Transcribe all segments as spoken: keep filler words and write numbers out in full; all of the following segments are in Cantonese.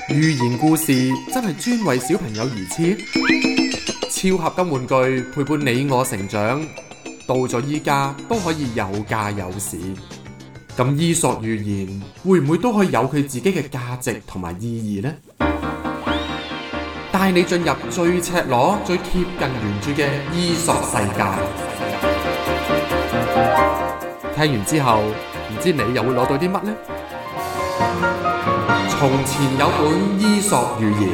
寓言故事真係專為小朋友而設，超合金玩具陪伴你我成長，到咗依家都可以有價有市。咁伊索寓言會唔會都可以有佢自己嘅價值同埋意義呢？帶你進入最赤裸、最貼近原著嘅伊索世界。聽完之後，唔知你又會攞到啲乜呢？從前有本伊索寓言，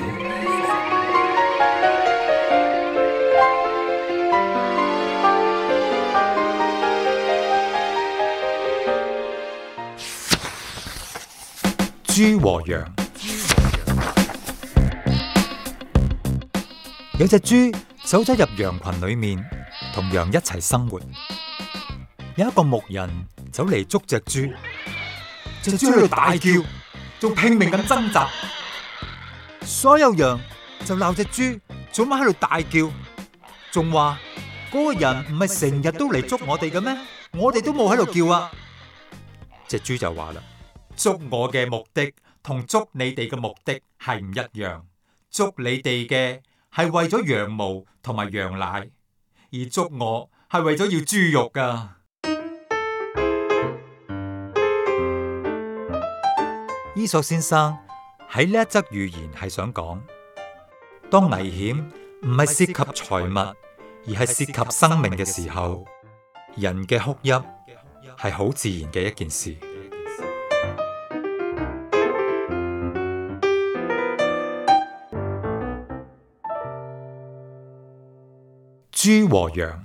豬和羊。有隻豬走咗入羊群裏面，同羊一齊生活。有一個牧人走嚟捉隻豬，隻豬喺度大叫，仲拼命咁掙扎。所有羊就鬧隻豬做乜喺度大叫，仲話嗰個人唔係成日都嚟捉我哋嘅咩？我哋都冇喺度叫啊！隻豬就話啦：捉我嘅目的同捉你哋嘅目的係唔一樣，捉你哋嘅係為咗羊毛同埋羊奶，而捉我係為咗要豬肉噶。伊索先生喺呢一則寓言係想講，當危險唔係涉及財物，而係涉及生命嘅時候，人嘅哭泣係好自然嘅一件事。豬和羊。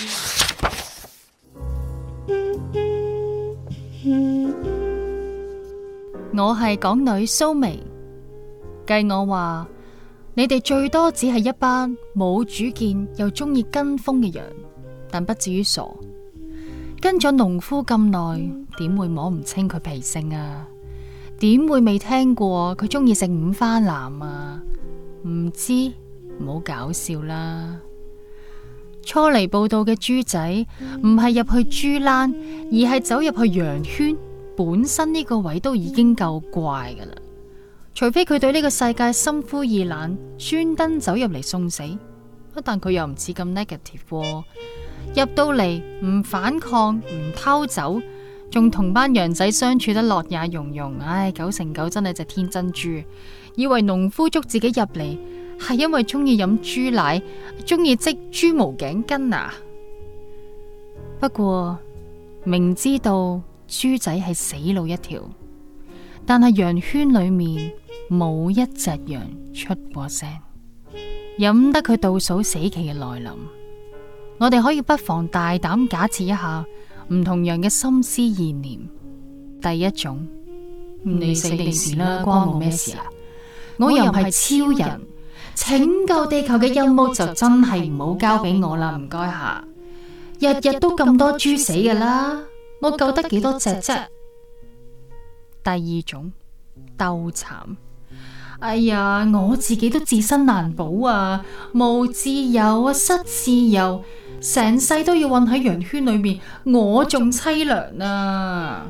我係港女蘇眉，計我話，你哋最多只係一班冇主見又中意跟風嘅羊，但不至於傻。跟咗農夫咁耐，點會摸唔清佢脾性啊？點會未聽過佢中意食五花腩啊？唔知，唔好搞笑啦！初嚟報道嘅豬仔唔係入去豬欄，而係走入去羊圈。本身呢個位都已經夠怪噶啦，除非佢對呢個世界心灰意冷，專登走入嚟送死。但佢又唔似咁 negative 喎，入到嚟唔反抗，唔偷走，仲同班羊仔相處得樂也融融。唉，九成九真係隻天真豬，以為農夫捉自己入嚟係因為中意飲豬奶，中意織豬毛頸巾啊！不過明知道豬仔係死路一條，但係羊圈裏面冇一隻羊出過聲，飲得佢倒數死期嘅來臨。我哋可以不妨大膽假設一下唔同羊嘅心思意念。第一種，你死定事啦，關我咩事啊？我又唔係超人，拯救地球嘅任務就真係唔好交俾我啦，唔該下。日日都咁多豬死噶啦，我救得幾多隻啫？第二種，鬥慘。哎呀，我自己都自身難保啊，無自由啊，失自由，成世都要困喺羊圈裏面，我仲淒涼啊！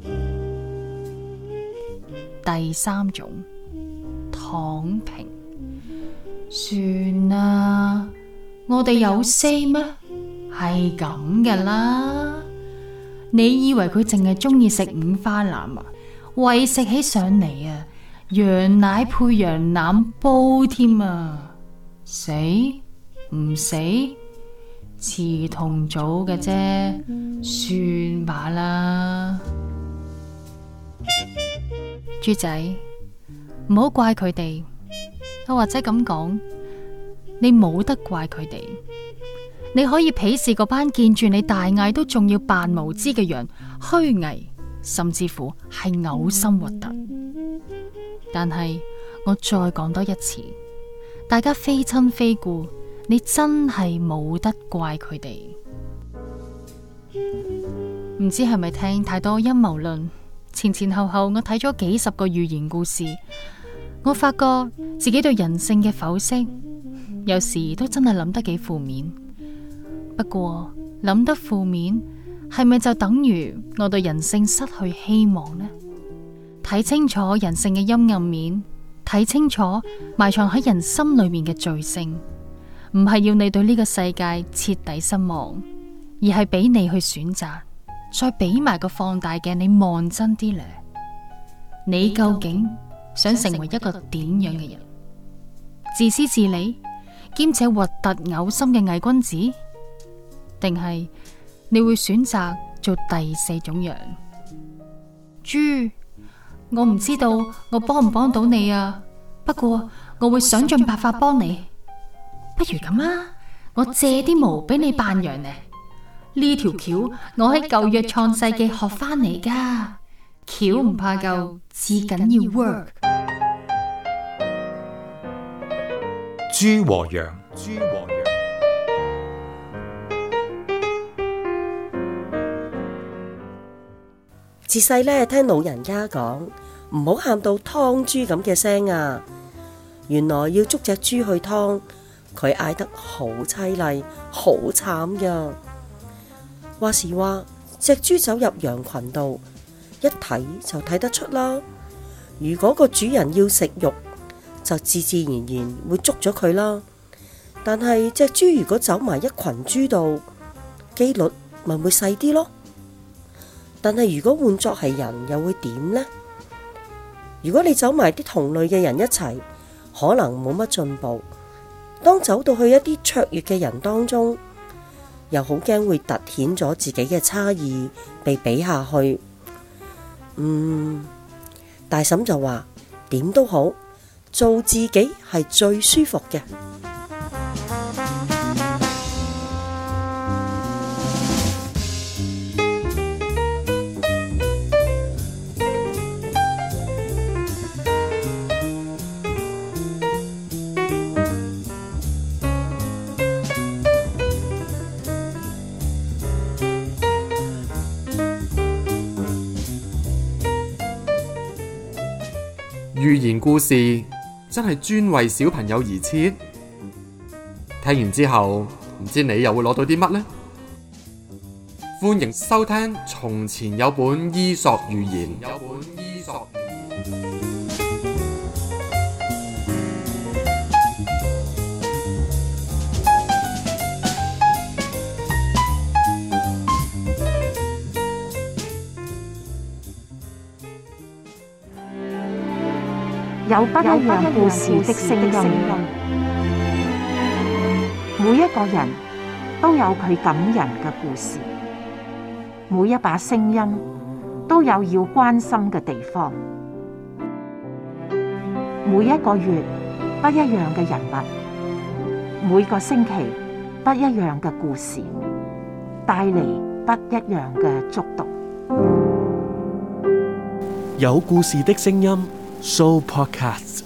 第三種，躺平。算啦，我哋有 say 咩？係咁噶啦。你以為佢淨係中意食五花腩啊？喂食起上嚟啊，羊奶配羊腩煲添啊！死唔死？遲同早嘅啫，算吧啦。豬仔，唔好怪佢哋，又或者咁講，你冇得怪佢哋。你可以鄙視嗰班見住你大嗌都仲要扮無知嘅羊，虛偽，甚至乎係嘔心核突。但係我再講多一次，大家非親非故，你真係冇得怪佢哋。唔知係咪聽太多陰謀論？前前後後我睇咗幾十個寓言故事，我發覺自己對人性嘅剖析，有時都真係諗得幾負面。不過諗得負面，係咪就等於我對人性失去希望呢？睇清楚人性嘅陰暗面， 睇清楚埋藏喺人心裏面嘅罪性，唔係要你對呢個世界徹底失望，而係俾你去選擇，再俾埋個放大鏡你望真啲咧。你究竟想成為一個點樣嘅人？自私自利，兼且核突嘔心嘅偽君子，定係你會選擇做第四種人？豬，我唔知道我幫唔幫到你啊，不過我會想盡辦法幫你。不如咁啊，我借啲毛俾你扮羊呢。呢條橋我喺舊約創世記學翻嚟噶，橋唔怕舊，至緊要 work。 豬和羊，豬和羊。 自細咧聽老人家講，唔好喊到湯豬咁嘅聲啊！原來要捉隻豬去湯，佢嗌得好淒厲，好慘噶。話時話，隻豬走入羊群度，一睇就睇得出啦。如果個主人要食肉，就自自然然會捉咗佢啦。但係隻豬如果走埋一群豬度，機率咪會細啲咯。但係如果換作係人，又會點呢？如果你走埋啲同類嘅人一齊，可能冇乜進步。當走到去一啲卓越嘅人當中，又好驚會凸顯咗自己嘅差異，被比下去。嗯，大嬸就話點都好，做自己係最舒服嘅。 寓言故事真係專為小朋友而設，聽完之後唔知你又會攞到啲乜呢？歡迎收聽《從前有本伊索寓言》。有本伊索寓言。 有不一樣故事的聲音，每一個人都有佢感人嘅故事，每一把聲音都有要關心嘅地方。每一個月不一樣嘅人物，每個星期不一樣嘅故事，帶嚟不一樣嘅觸動。 有故事的聲音，Sooo Podcast。